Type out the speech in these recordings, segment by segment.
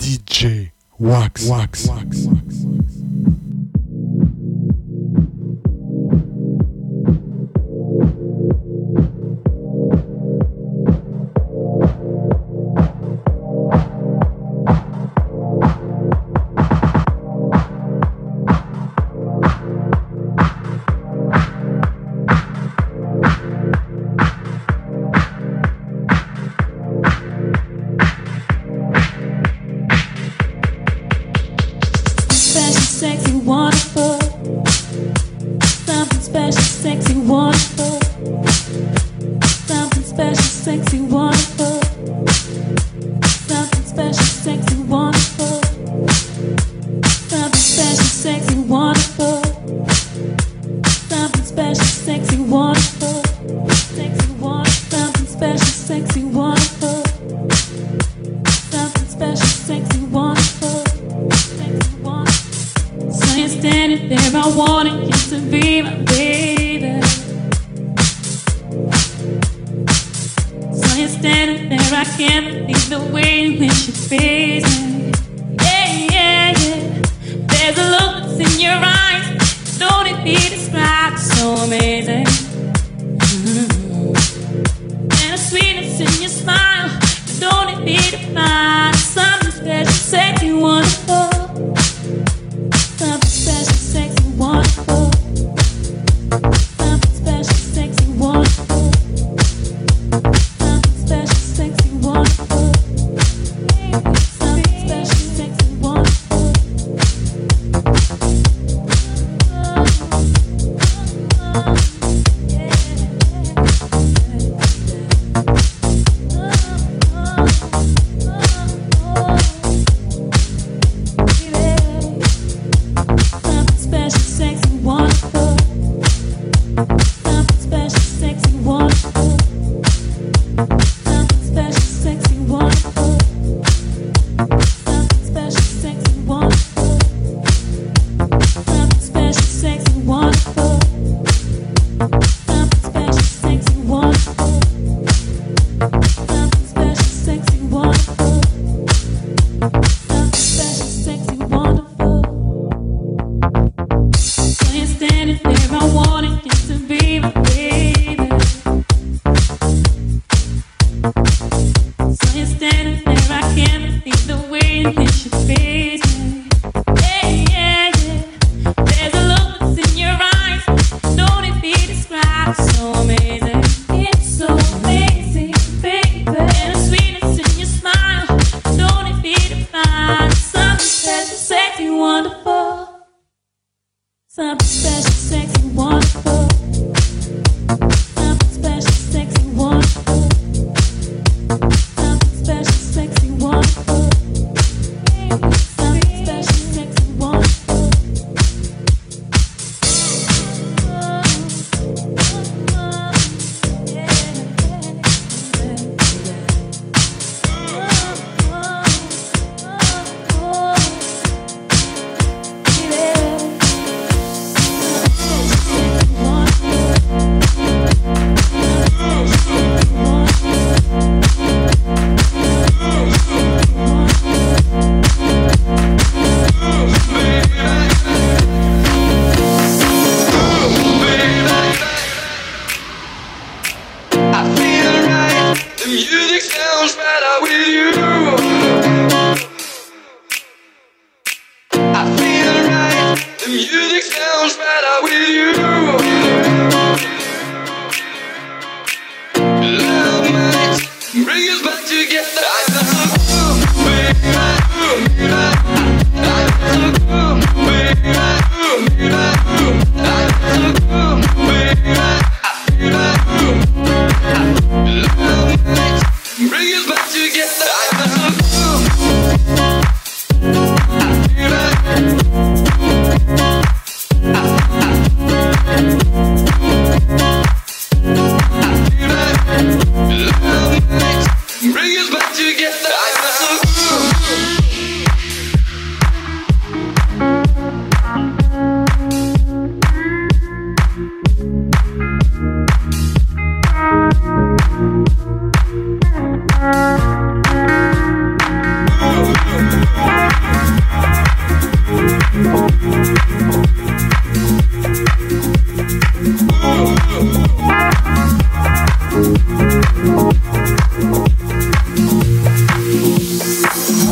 DJ Wax.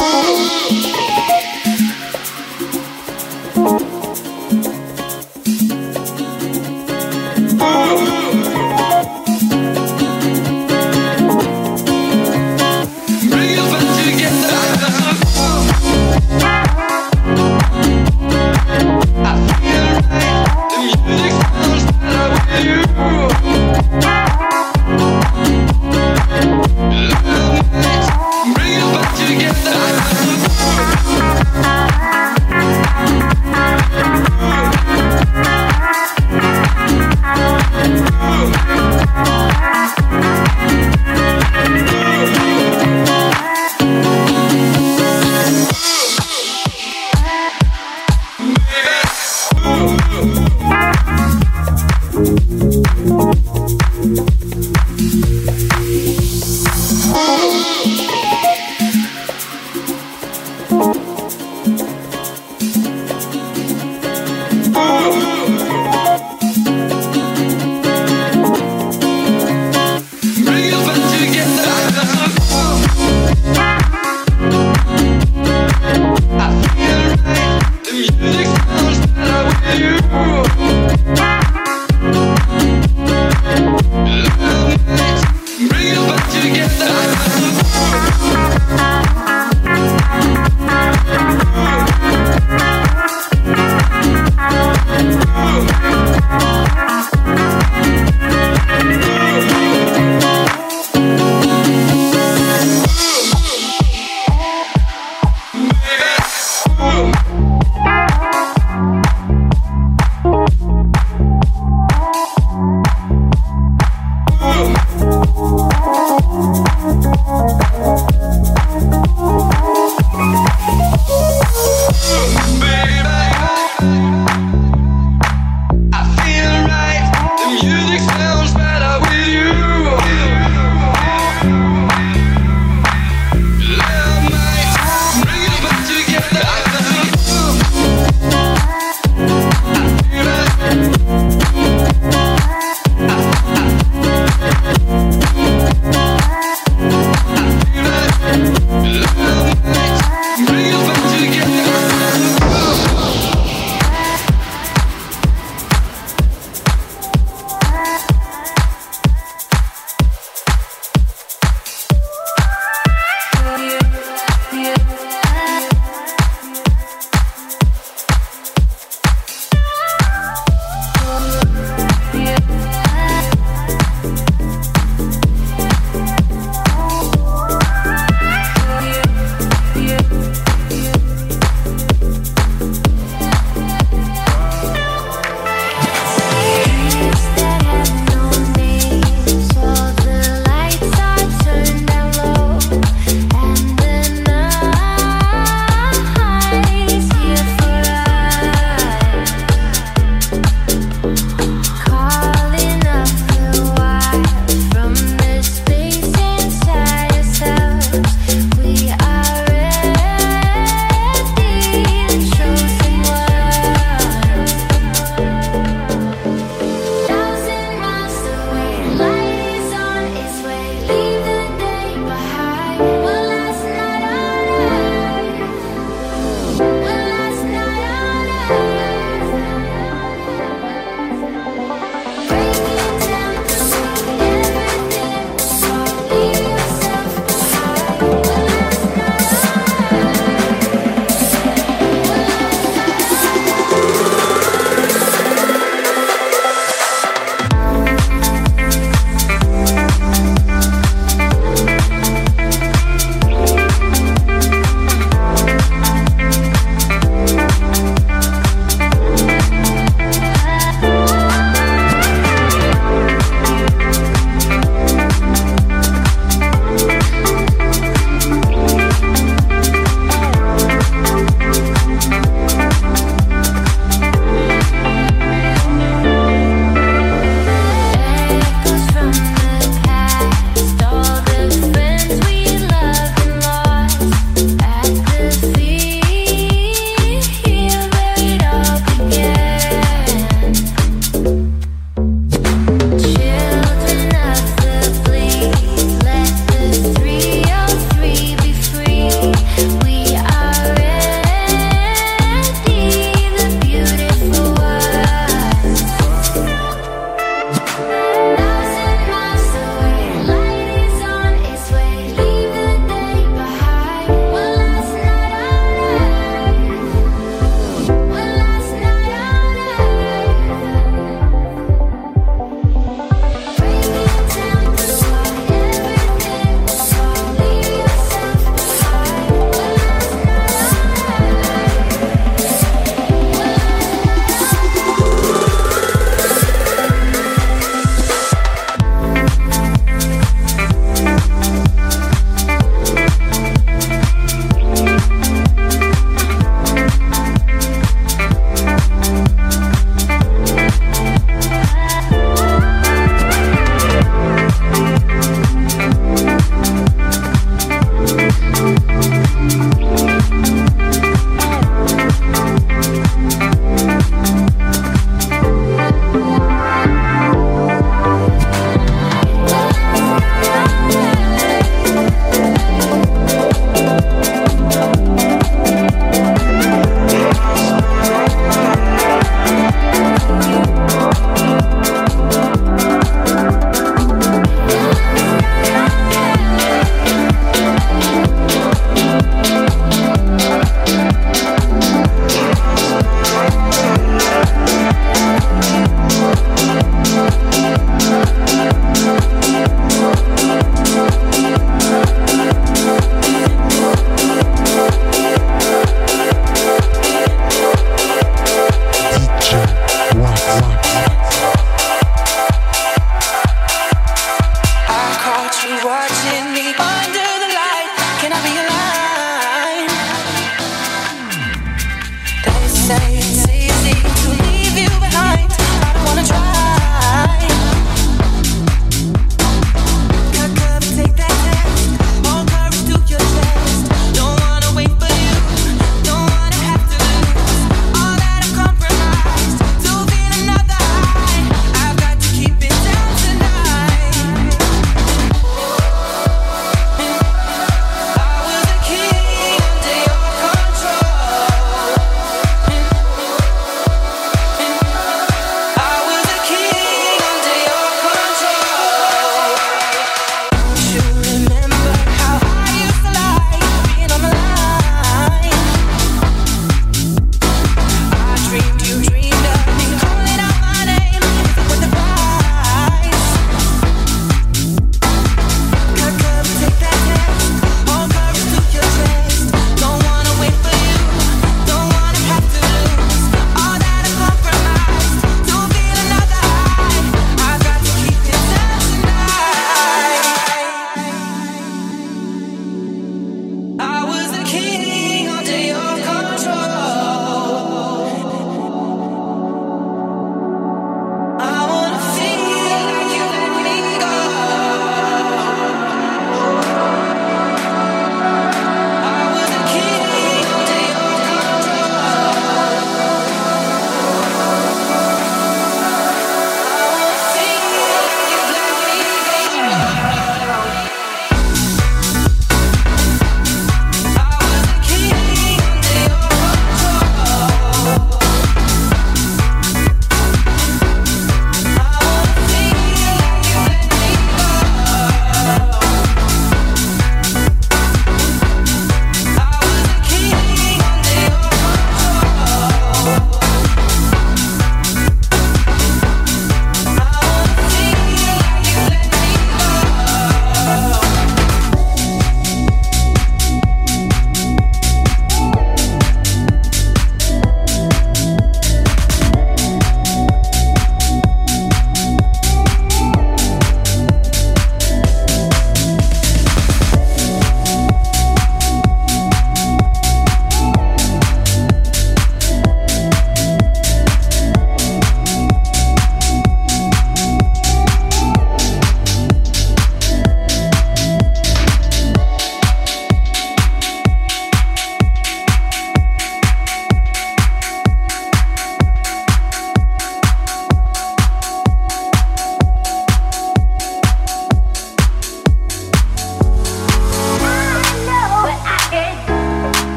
Bring it back together.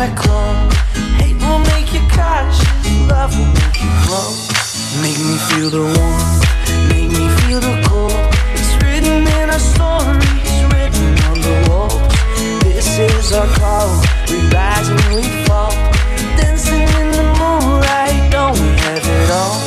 I crawl. Hate will make you cautious, love will make you grow. Make me feel the warmth, make me feel the cold. It's written in our stories, written on the walls. This is our call, we rise and we fall. Dancing in the moonlight, don't we have it all?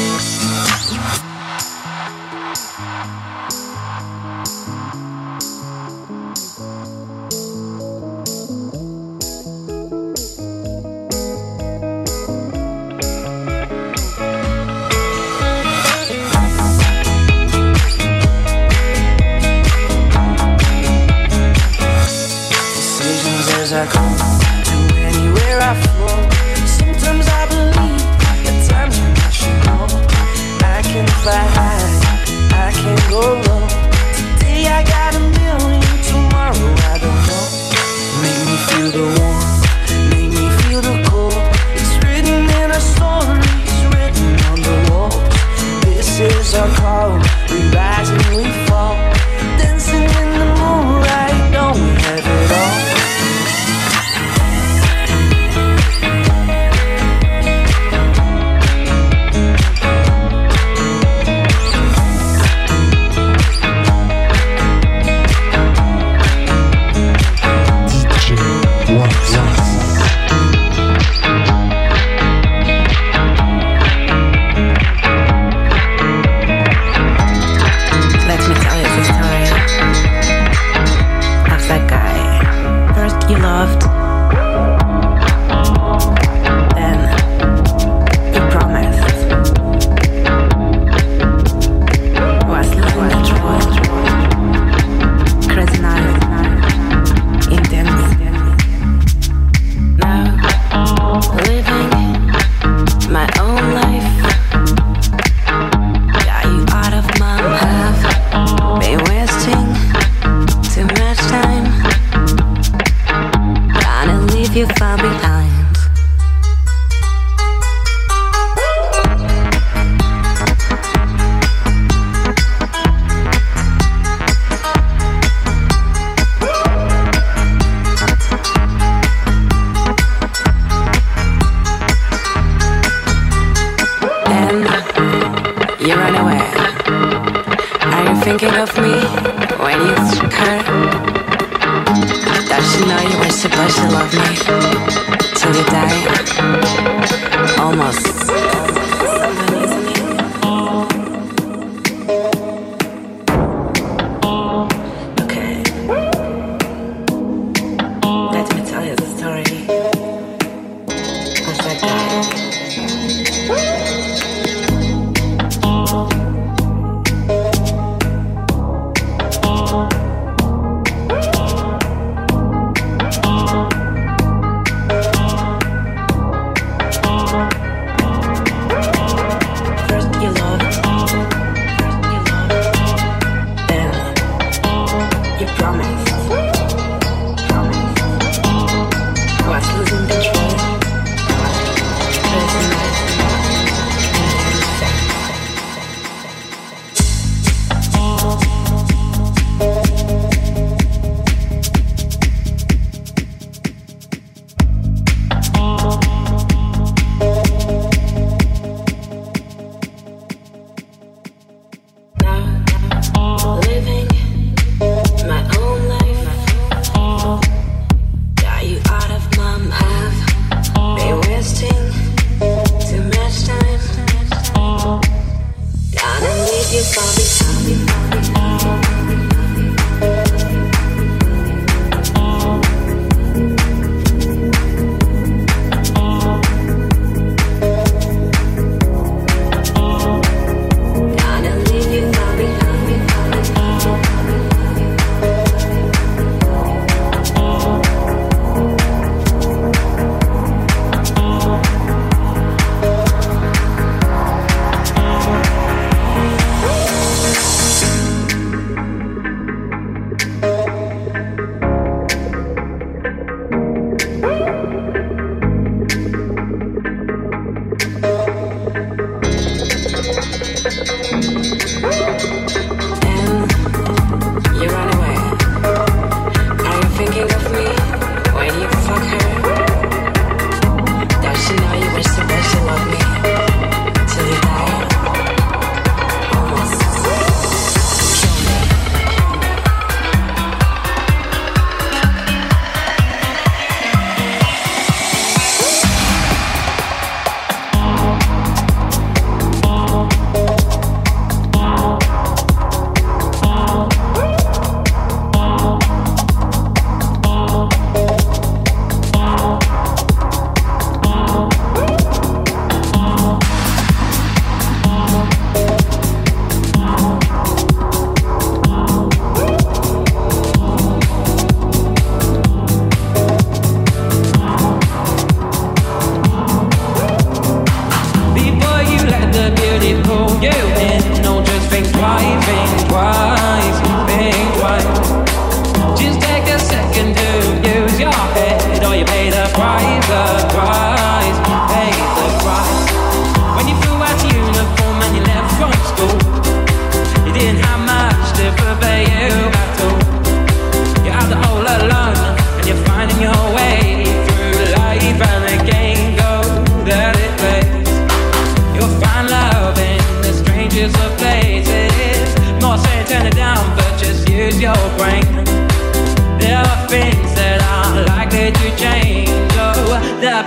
As I come to anywhere I flow. Sometimes I believe, at times when I should go. I can fly high, I can go low. Today I got a million, tomorrow I don't know. Make me feel the warmth, make me feel the cold. It's written in our stories, written on the walls. This is our call, we rise and we fall. Dancing in the moonlight, don't we have it all? Thinking of me when you hurt. Does she know you were supposed to love me till you die? Almost. Okay. Let me tell you the story of that guy.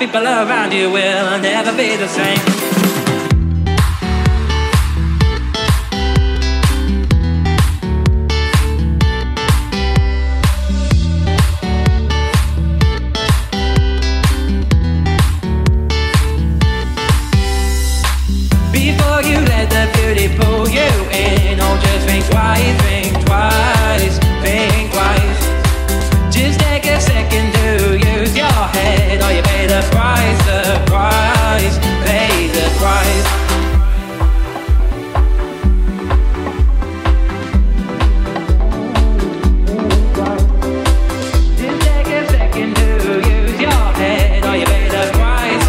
people around you will never be the same. Before you let the beauty pull you in, oh, just think twice, think twice, think twice. Just take a second to use your head, or you pay the price, pay the price. Just take a second to use your head, or you pay the price,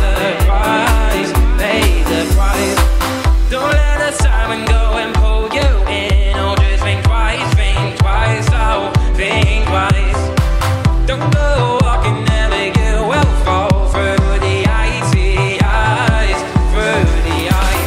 pay the price. Don't let the siren go and pull you in. Oh, just think twice, oh, think twice. Don't go walking there, you will fall through the icy eyes, through the ice.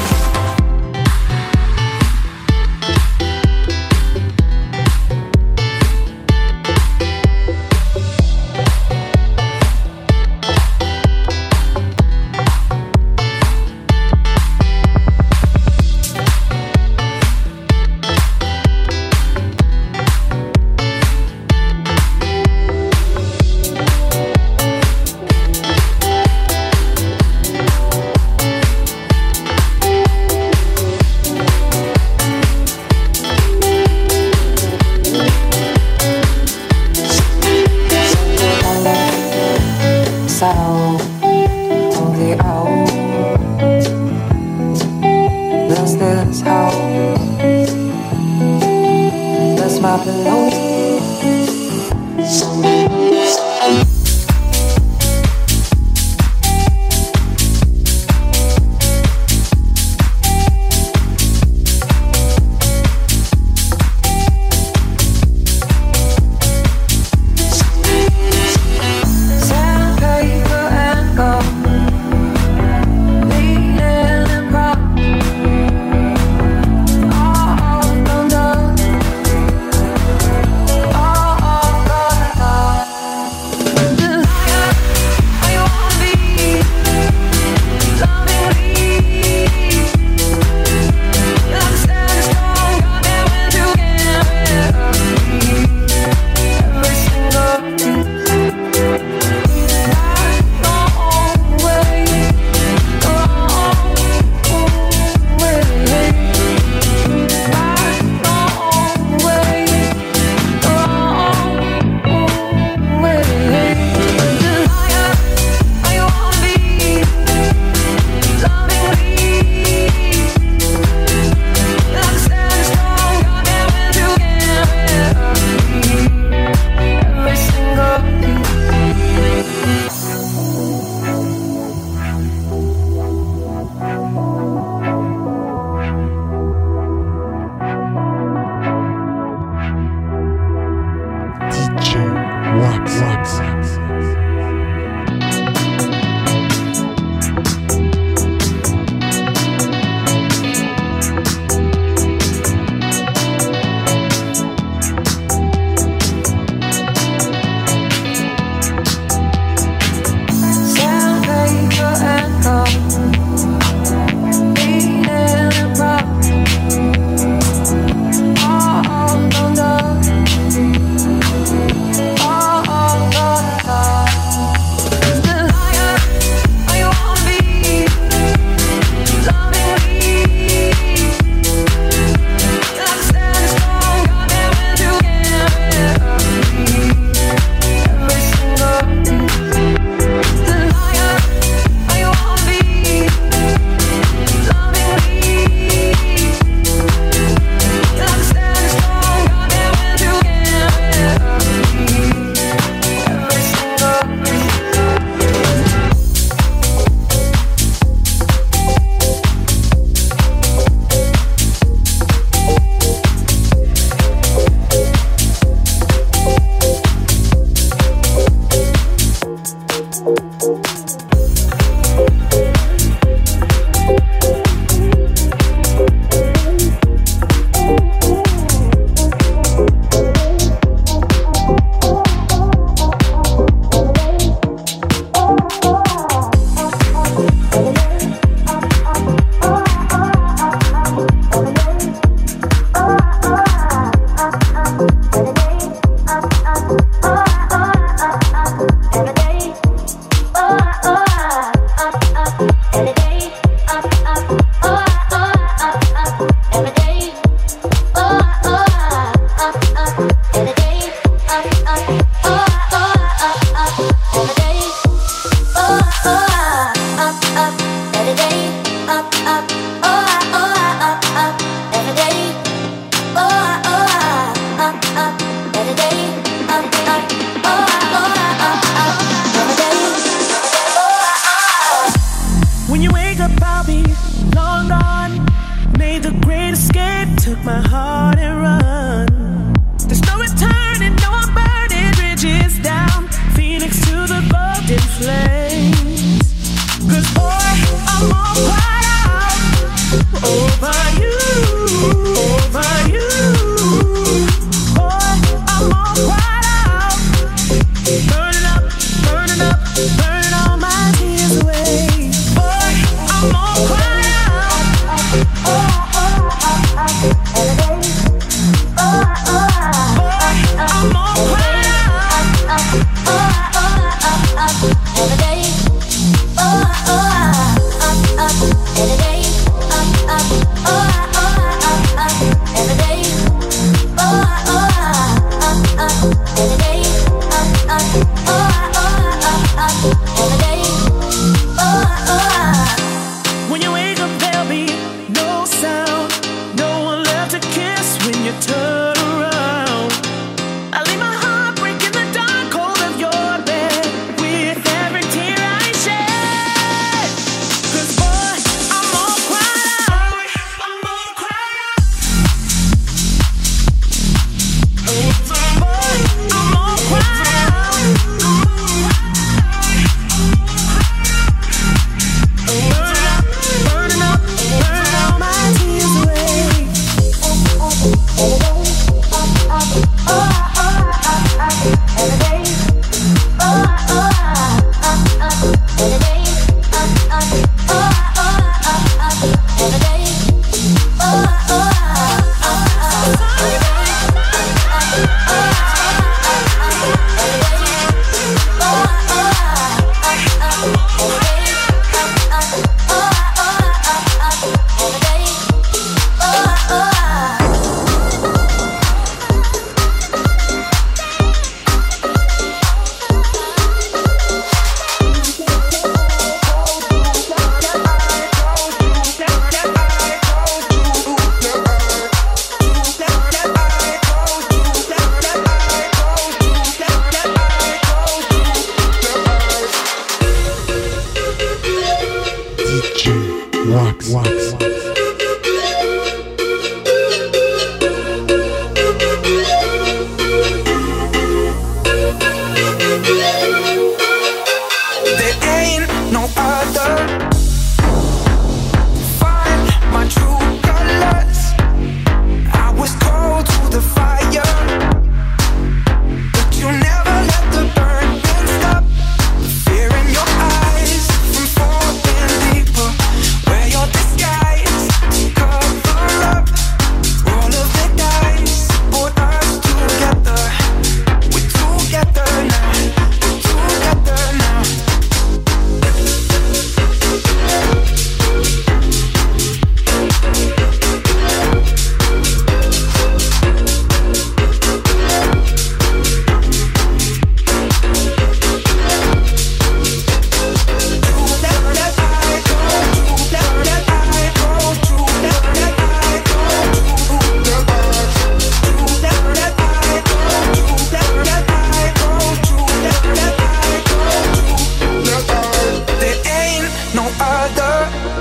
flames. 'Cause boy, I'm all cried out over you, over you. Boy, I'm all cried out, burning up, burning up, burning all my tears away. Boy, I'm all cried out. Boy, I'm all cried out. Every day, When you wake up, there'll be no sound, no one left to kiss when you turn around. I leave my heart break in the dark cold of your bed with every tear I shed. 'Cause boy, I'm all cried out. I'm all cried out. Boy, I'm all cried out. Burning up, burning all my tears away. DJ Wax. There ain't no other. Find my true colors. I was cold to the fire, but you never let the burning stop. The fear in your eyes from falling deeper. Wear your disguise to cover up. Roll of the dice, put us together. We're together now. We're together now. There ain't no other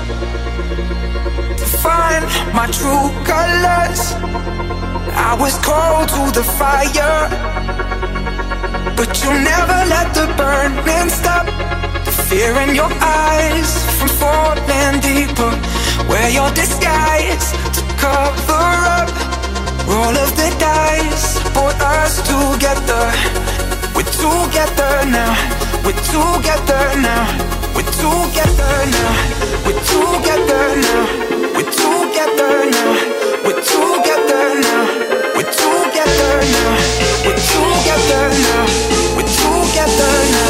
to find my true colors. I was cold to the fire, but you never let the burning stop. The fear in your eyes from falling deeper. Wear your disguise to cover up. Roll of the dice, put us together. We're together now. We're together now. We're together now. We're together now. We're together now. We're together now. We're together now. We're together now. We're together now.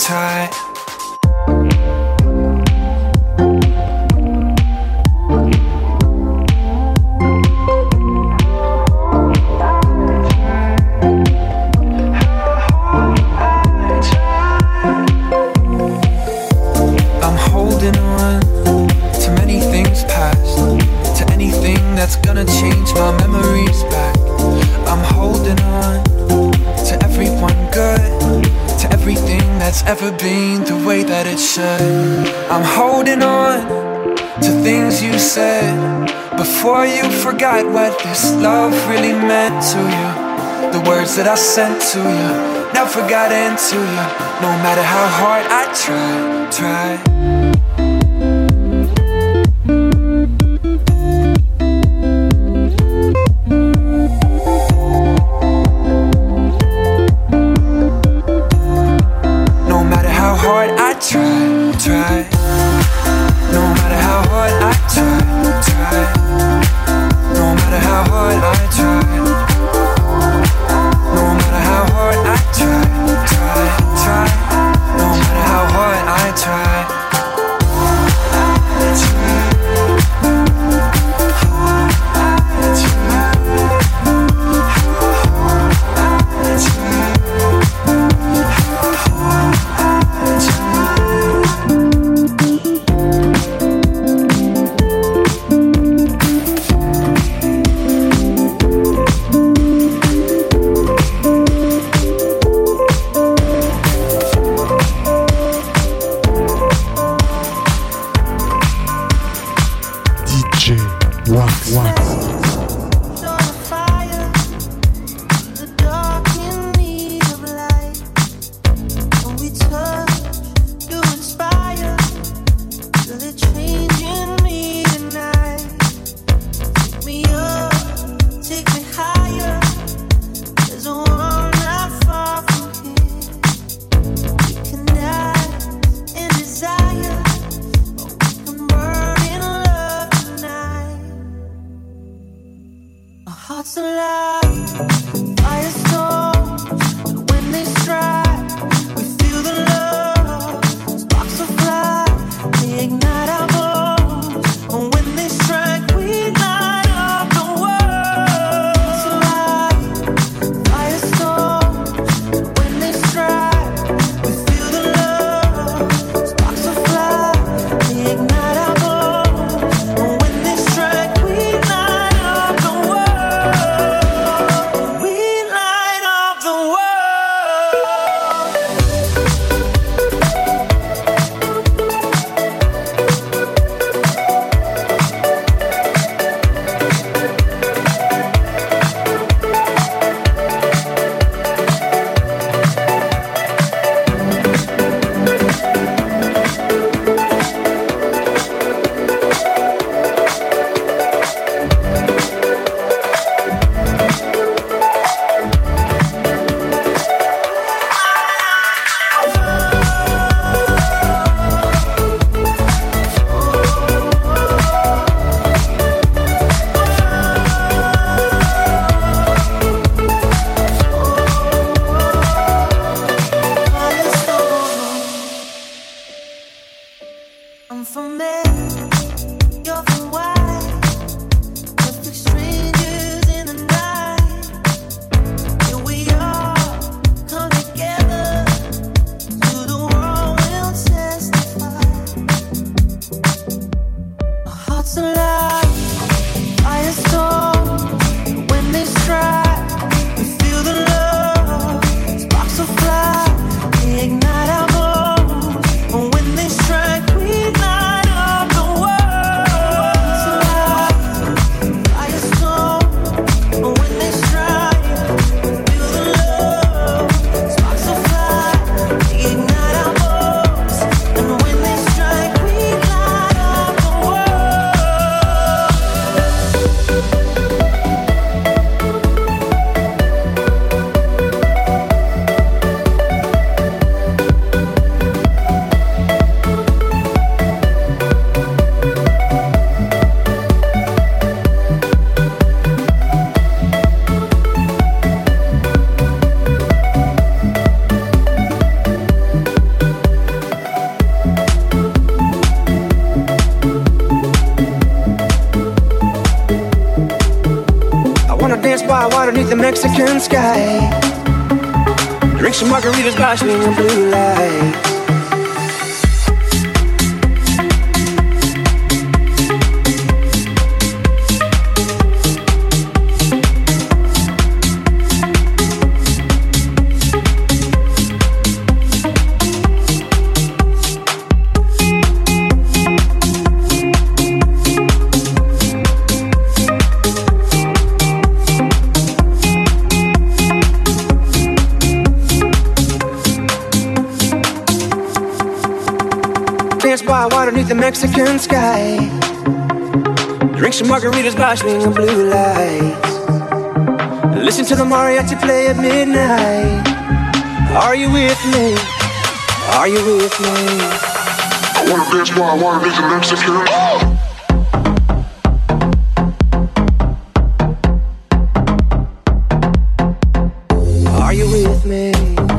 try. I'm holding on to many things past, to anything that's gonna change my memories back. I'm holding on to everyone good, to everything that's ever been the way that it should. I'm holding on to things you said before you forgot what this love really meant to you. The words that I sent to you never got into you, no matter how hard I try. Try. No matter how hard I try. No matter how hard I try. No matter how hard I try. No matter how hard I try. the Mexican sky. Drink some margaritas by swinging blue lights. Dance by water beneath the Mexican sky. Drink some margaritas by swinging blue lights. Listen to the mariachi play at midnight. Are you with me? Are you with me? I wanna dance by water beneath the Mexican. Are you with me?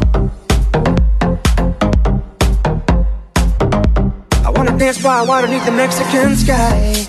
I wanna dance by water beneath the Mexican sky.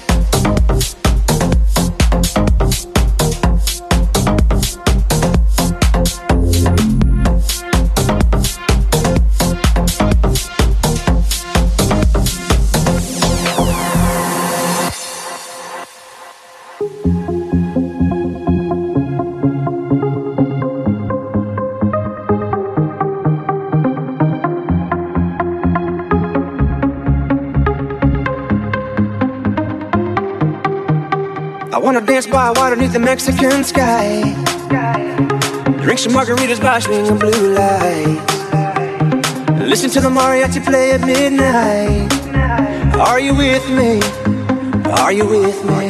I wanna dance by water beneath the Mexican sky. Drink some margaritas by swinging blue lights. Listen to the mariachi play at midnight. Are you with me? Are you with me?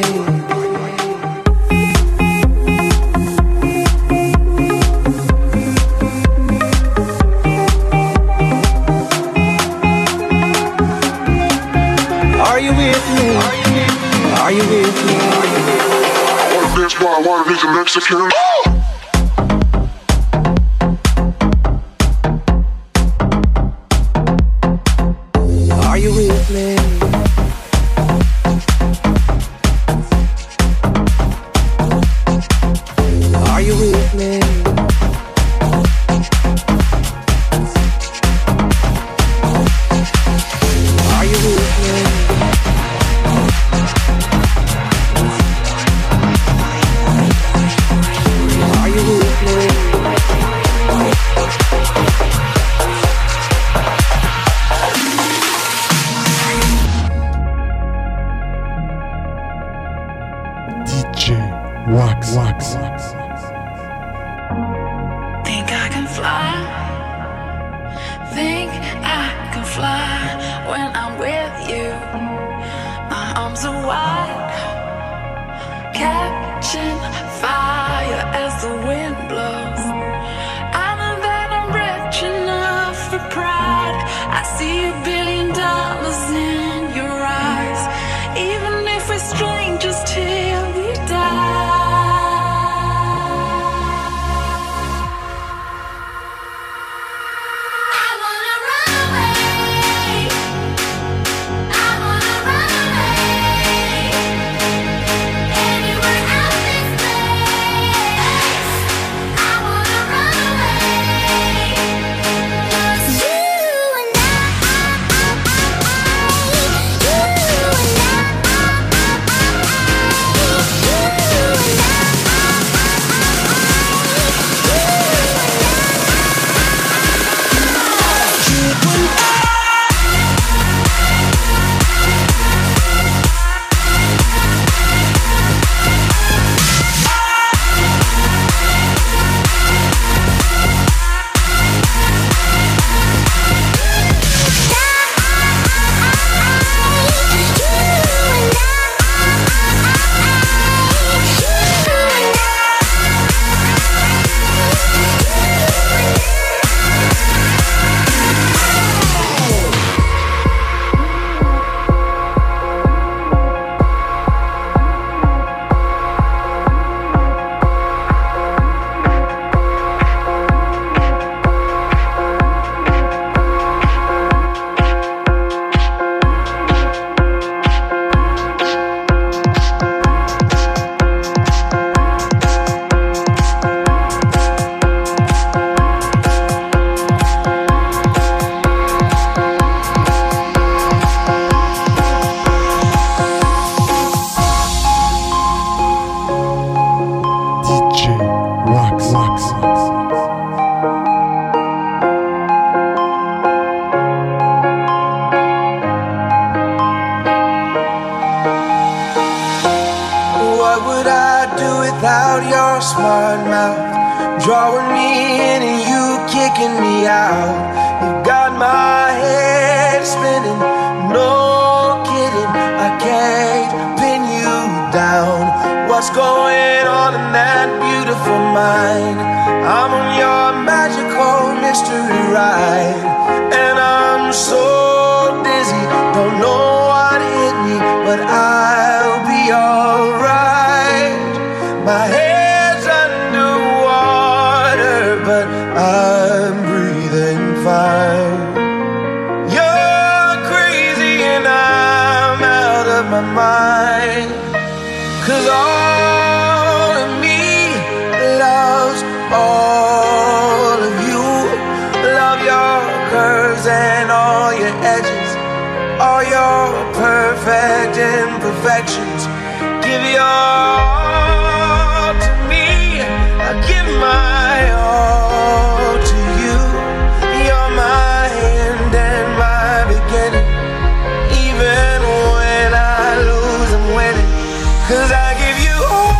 Are you with me? Are you with me? I wanna dance by water beneath the Mexican. Are you with me? Are you with me? Are you with me? Are you with me? DJ Wax. Think I can fly. Think I can fly when I'm with you. My arms are wide, catching fire as the wind blows. I know that I'm rich enough for pride. I see $1 billion in your eyes. Even if we're strangers till we die. I wanna run away. drawing me in and you kicking me out. You got my head spinning, no kidding, I can't pin you down. What's going on in that beautiful mind? I'm on your magical mystery ride, and I'm so dizzy, don't know what hit me, but I'll be alright. My head's underwater, but I'm breathing fine. You're crazy and I'm out of my mind, 'cause all of me loves all of you. Love your curves and all your edges, all your perfect imperfections. Give your all to me, I give my all to you. You're my end and my beginning. Even when I lose, I'm winning, 'cause I give you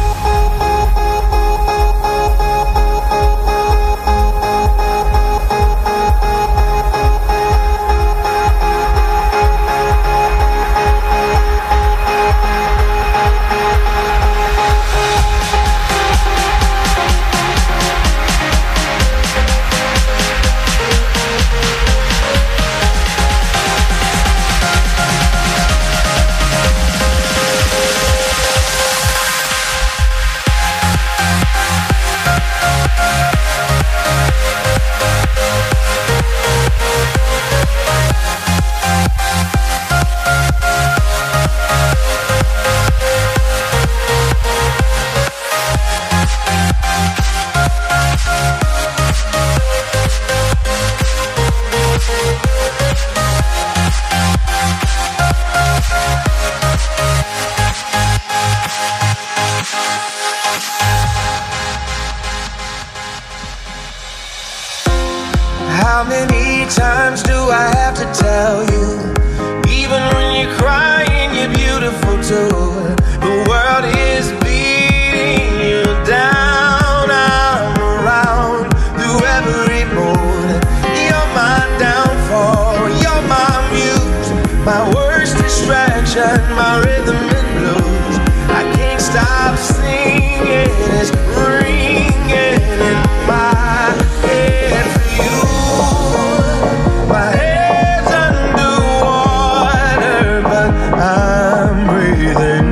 How many times do I have to tell you? Even when you're crying, you're beautiful too. The world is beating you down. I'm around through every mood. You're my downfall, you're my muse, my worst distraction, my rhythm and blues. I can't stop singing, it's ringing in my head for you. My head's underwater, but I'm breathing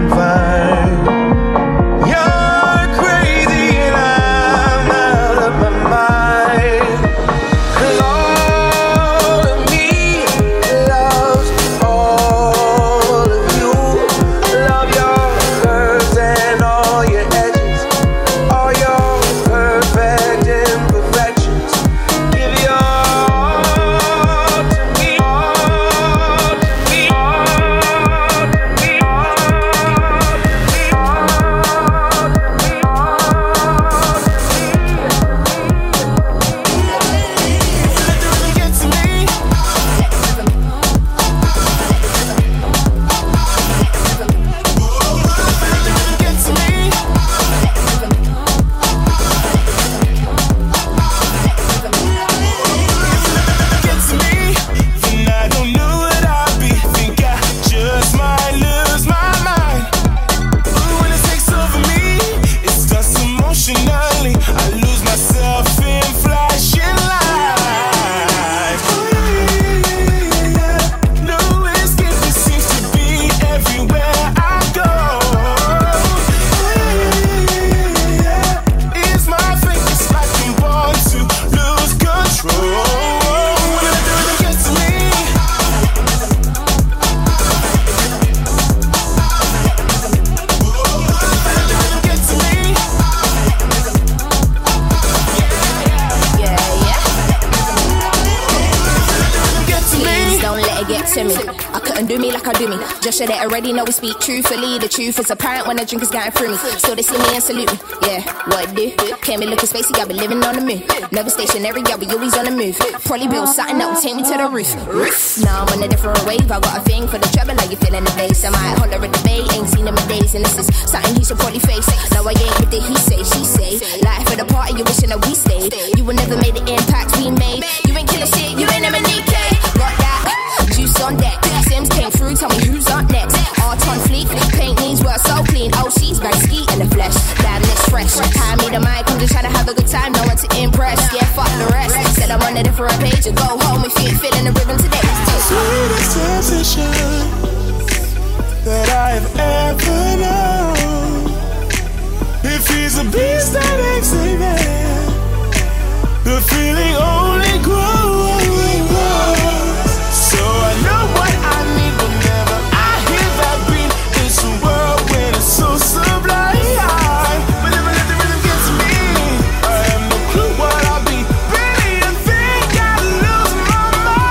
to get to me. I couldn't do me like I do me. Just so they already know we speak truthfully. The truth is apparent when the drink is getting through me. Still they see me and salute me. Yeah, what it do? Can't be looking spacey, I be living on the moon. Never stationary, I be always on the move. Probably build something that will take me to the roof. Now I'm on a different wave. I got a thing for the treble, like you feeling the bass. I might holler at the bay, ain't seen him in days, and this is something he should probably face. Now I ain't with the he say, she say. Life for the party, you wishing that we stayed. You would never made the impact we made. You ain't killing shit, you ain't MNEK. Got that juice on deck. Sims came through, tell me who's up next. Art on fleek, paint needs work so clean. Oh, she's back ski in the flesh. Damn, it's fresh. Hand me the mic, I'm just trying to have a good time. No one to impress. Yeah, fuck the rest. Said I'm on a different page and go home if you ain't feeling the rhythm today. Sweetest sensation that I have ever known. If he's a beast that exhibit, the feeling only grows. So I know what I need whenever I hear that beat. It's a world when it's so sublime. But never let the rhythm get to me. I have no clue what I'll be. Really, I think I'll lose my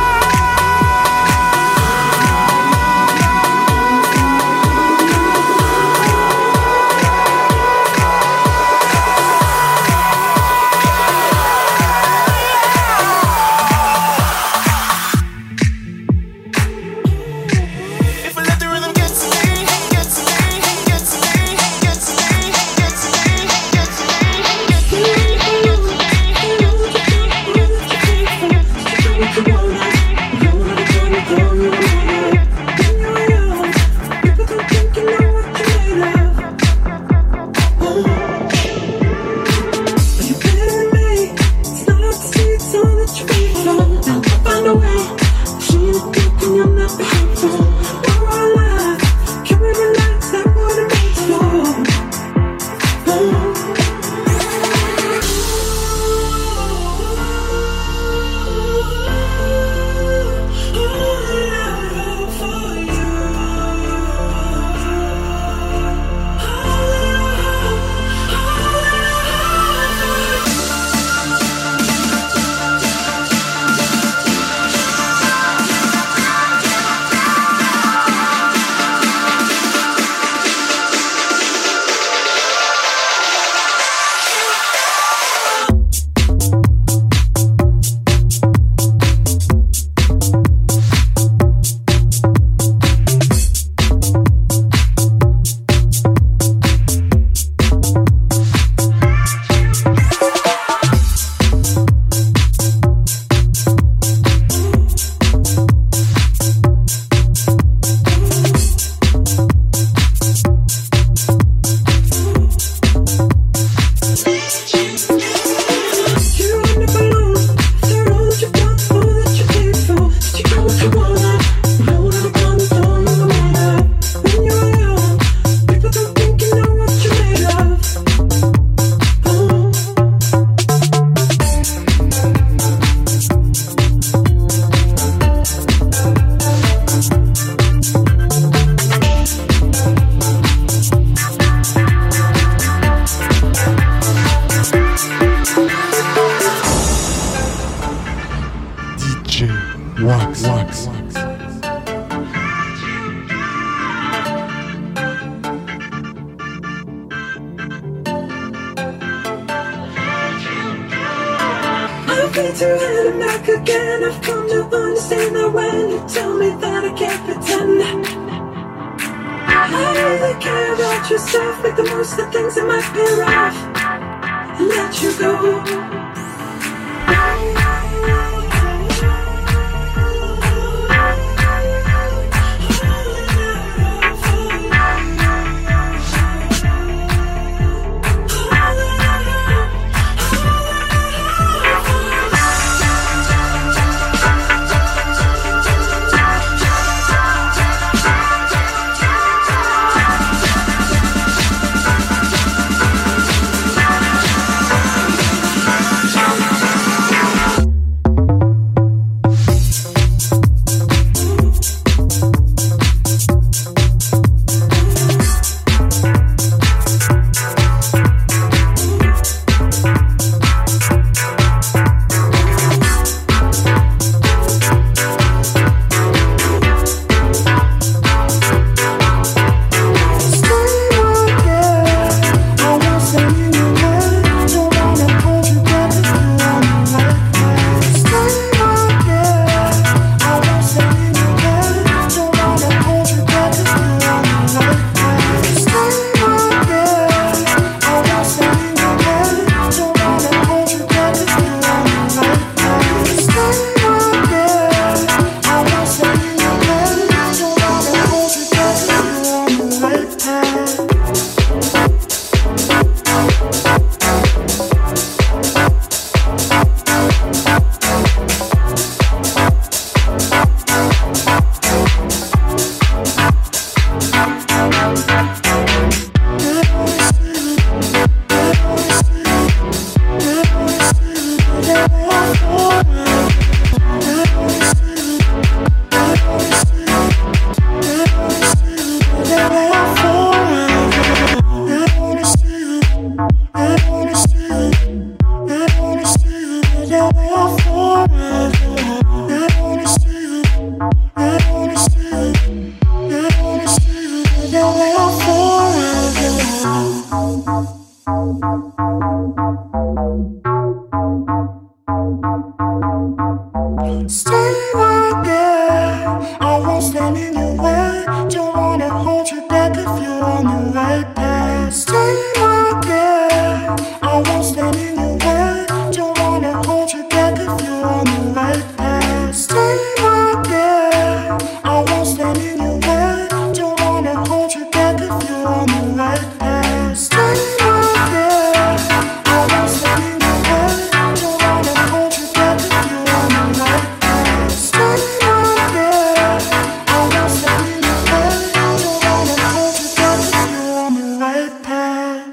been to hell and back again. I've come to understand that when you tell me that I can't pretend, I really care about yourself. Make the most of things that might be rough and let you go. right there. I won't stand in your way. Don't wanna hold you back if you're on the right path. Stay right there. I won't stand in your way. Don't wanna hold you back if you're on the right path. Stay right there. I won't stand in your way. Don't wanna hold you back if you're on the right path. Stay right there. I won't stand in your way. Don't wanna hold you back if you're on the right path. Stay right there. I won't stand in your way. Don't wanna hold you back if you're on the right path.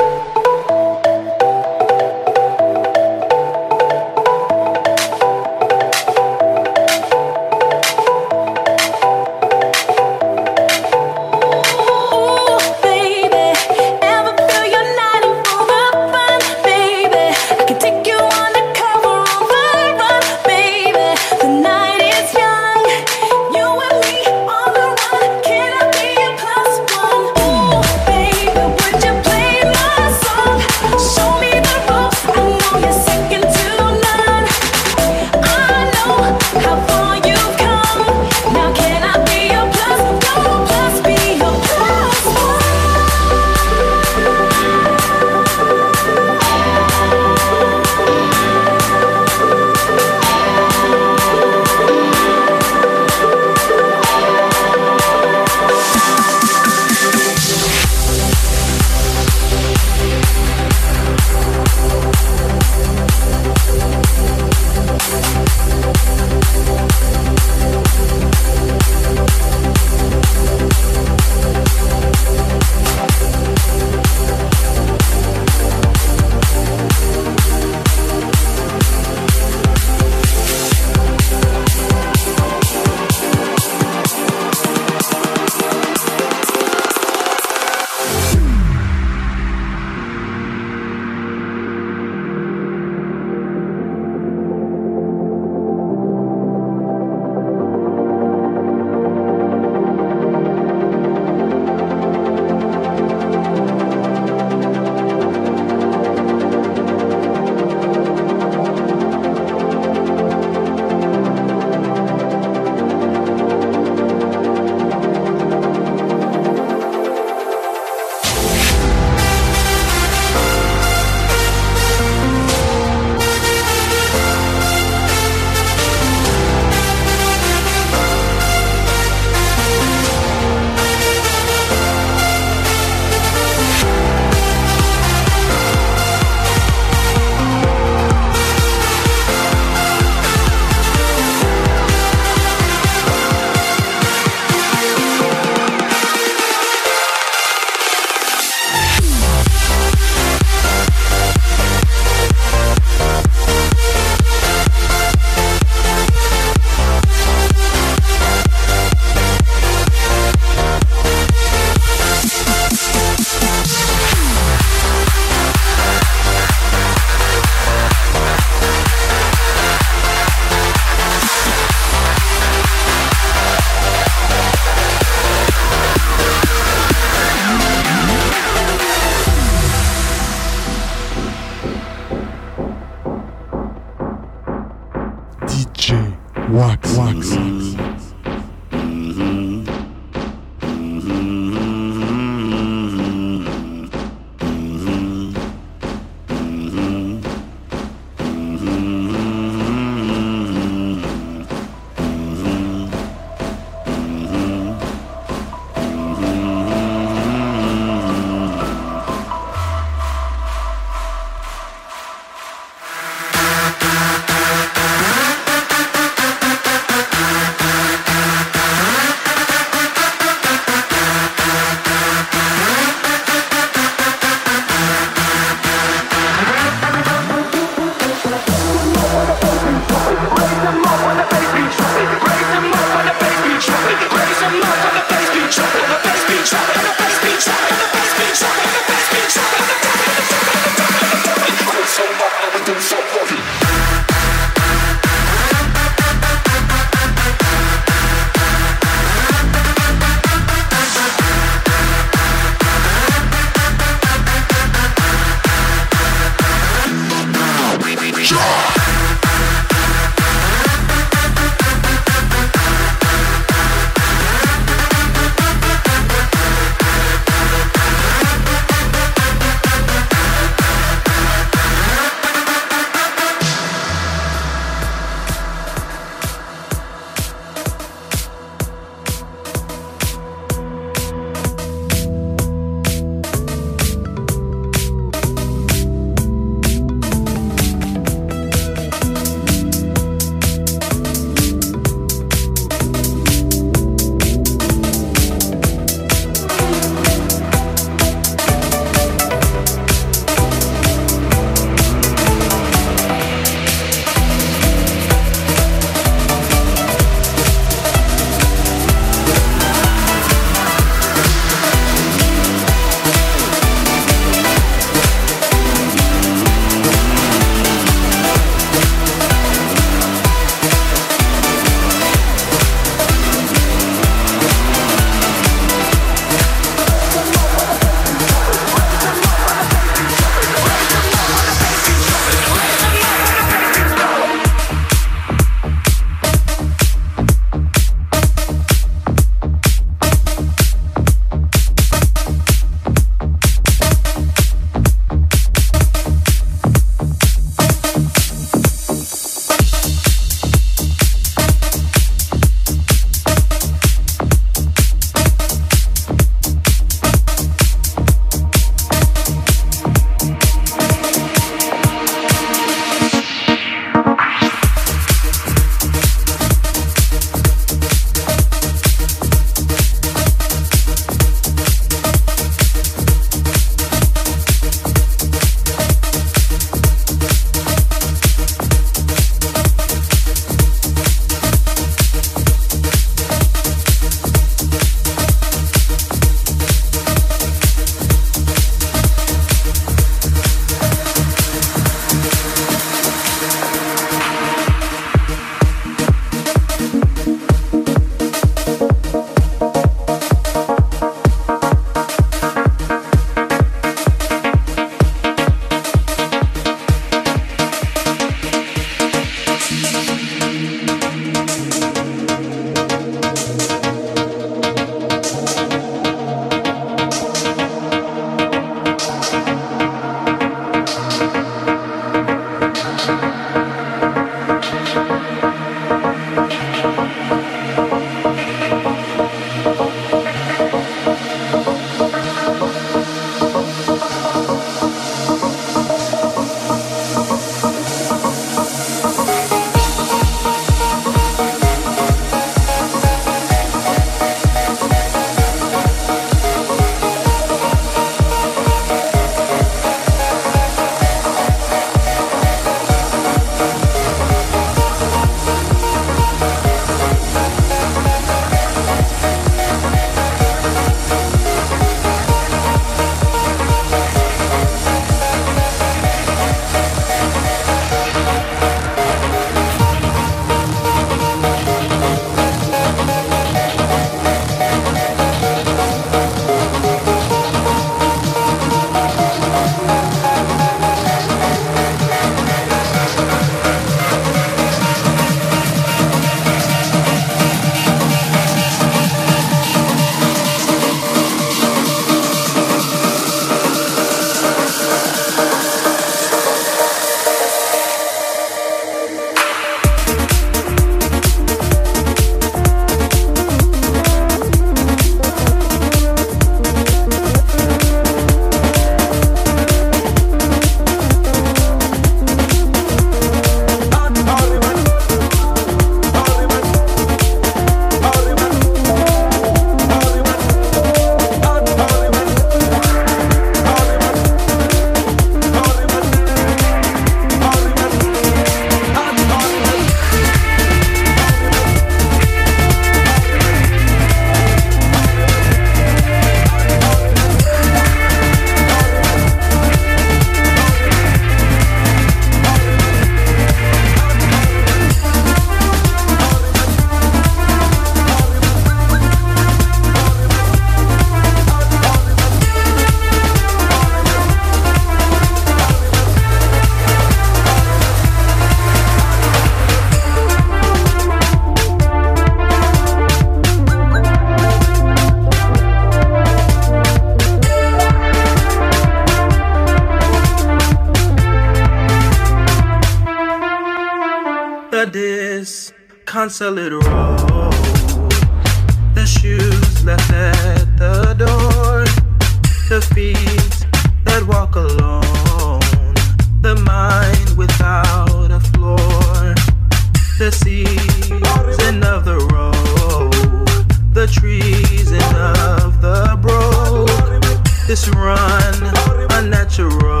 disconsolate road. The shoes left at the door. The feet that walk alone. The mind without a floor. The season of the road. The treason of the broke. This run unnatural,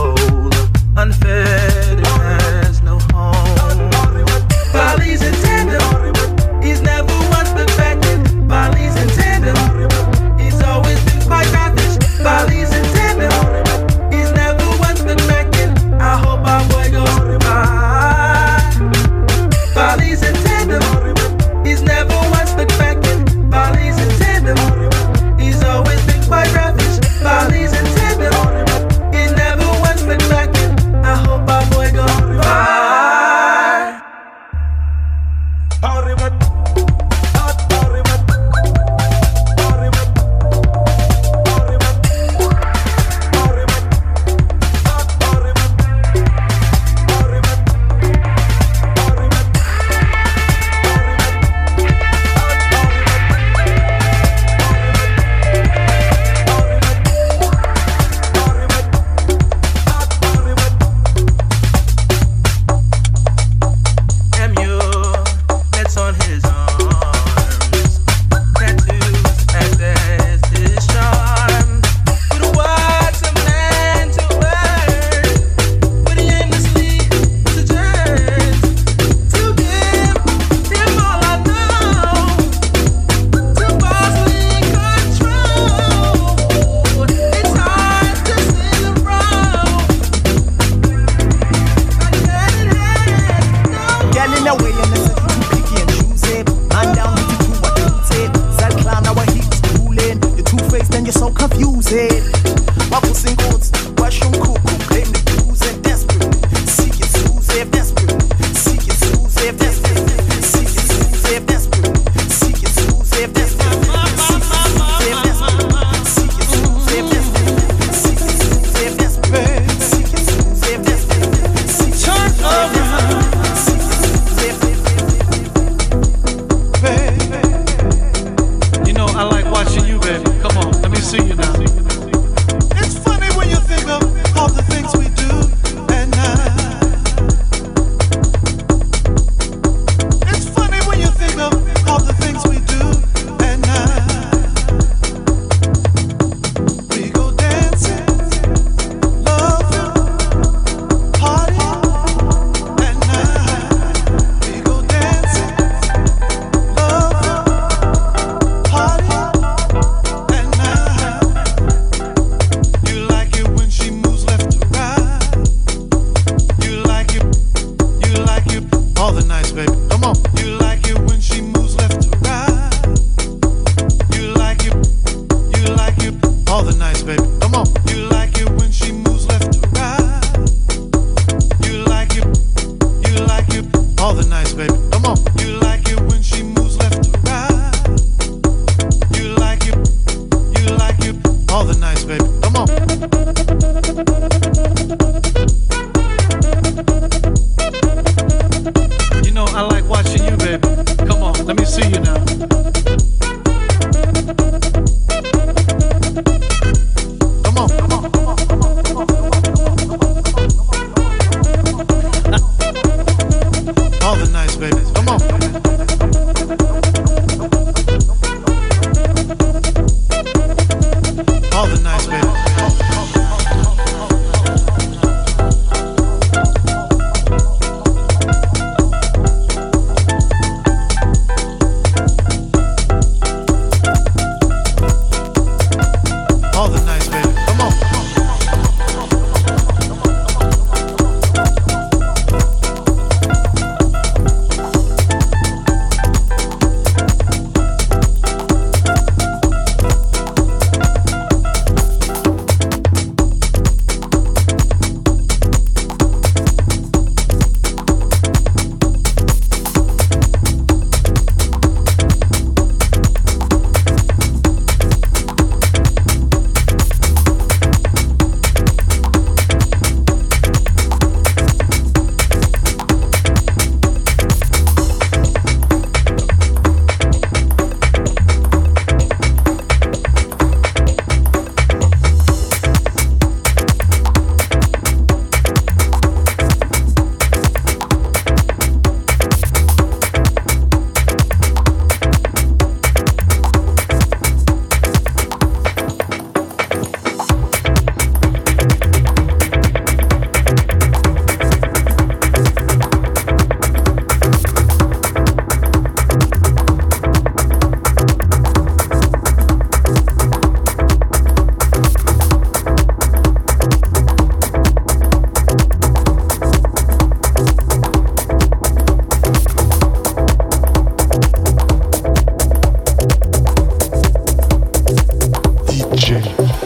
unfed, it has no home. Bali's in tandem, he's never once been backing. Bali's in tandem, he's always been quite ravish. Bali's in tandem, he's never once been backing. I hope our boy goes by. Bali's in tandem, he's never once been backing. Bali's in tandem, he's always been quite ravish. Bali's in tandem, he's never once been backing. I hope our boy goes by.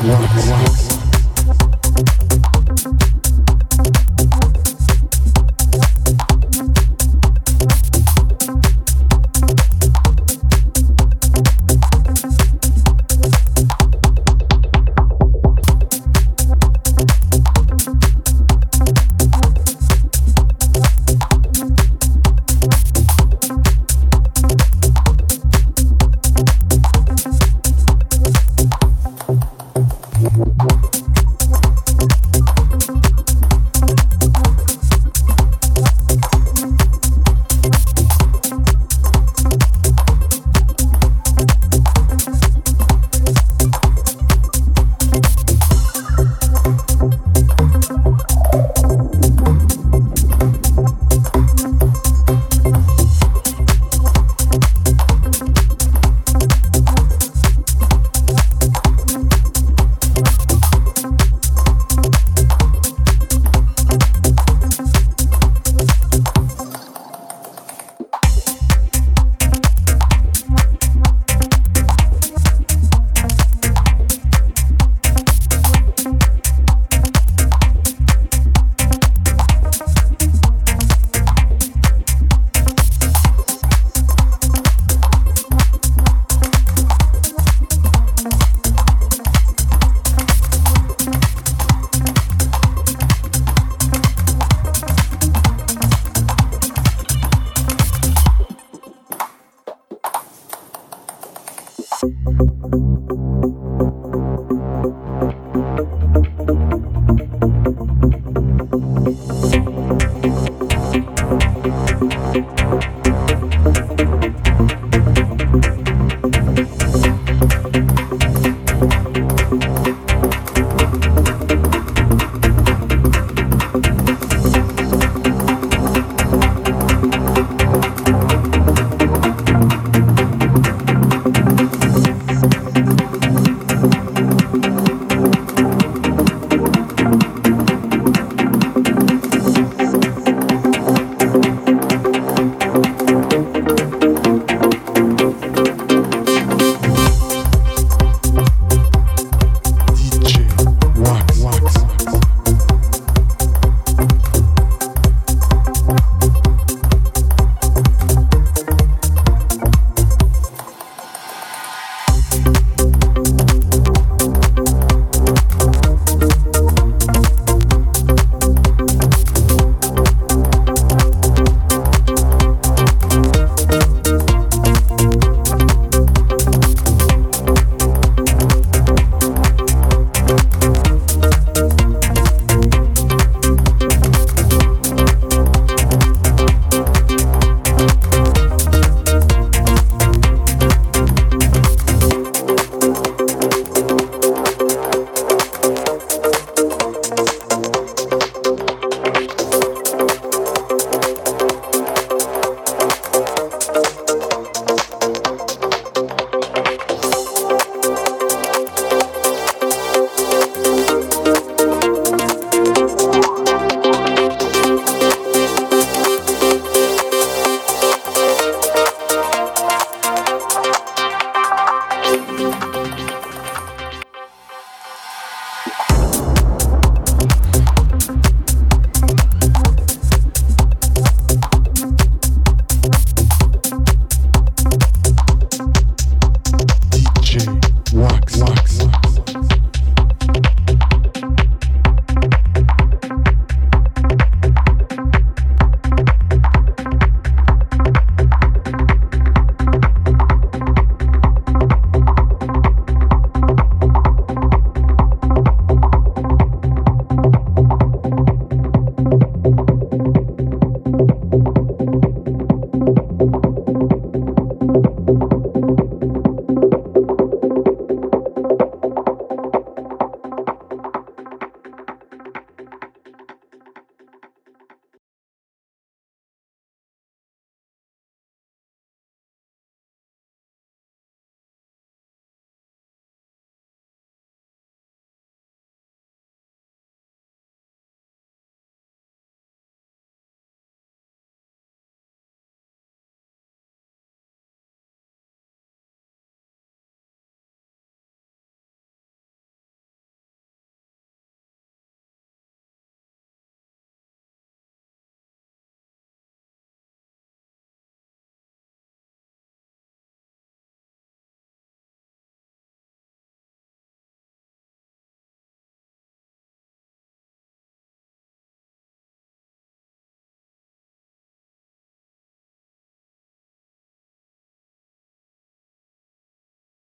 once.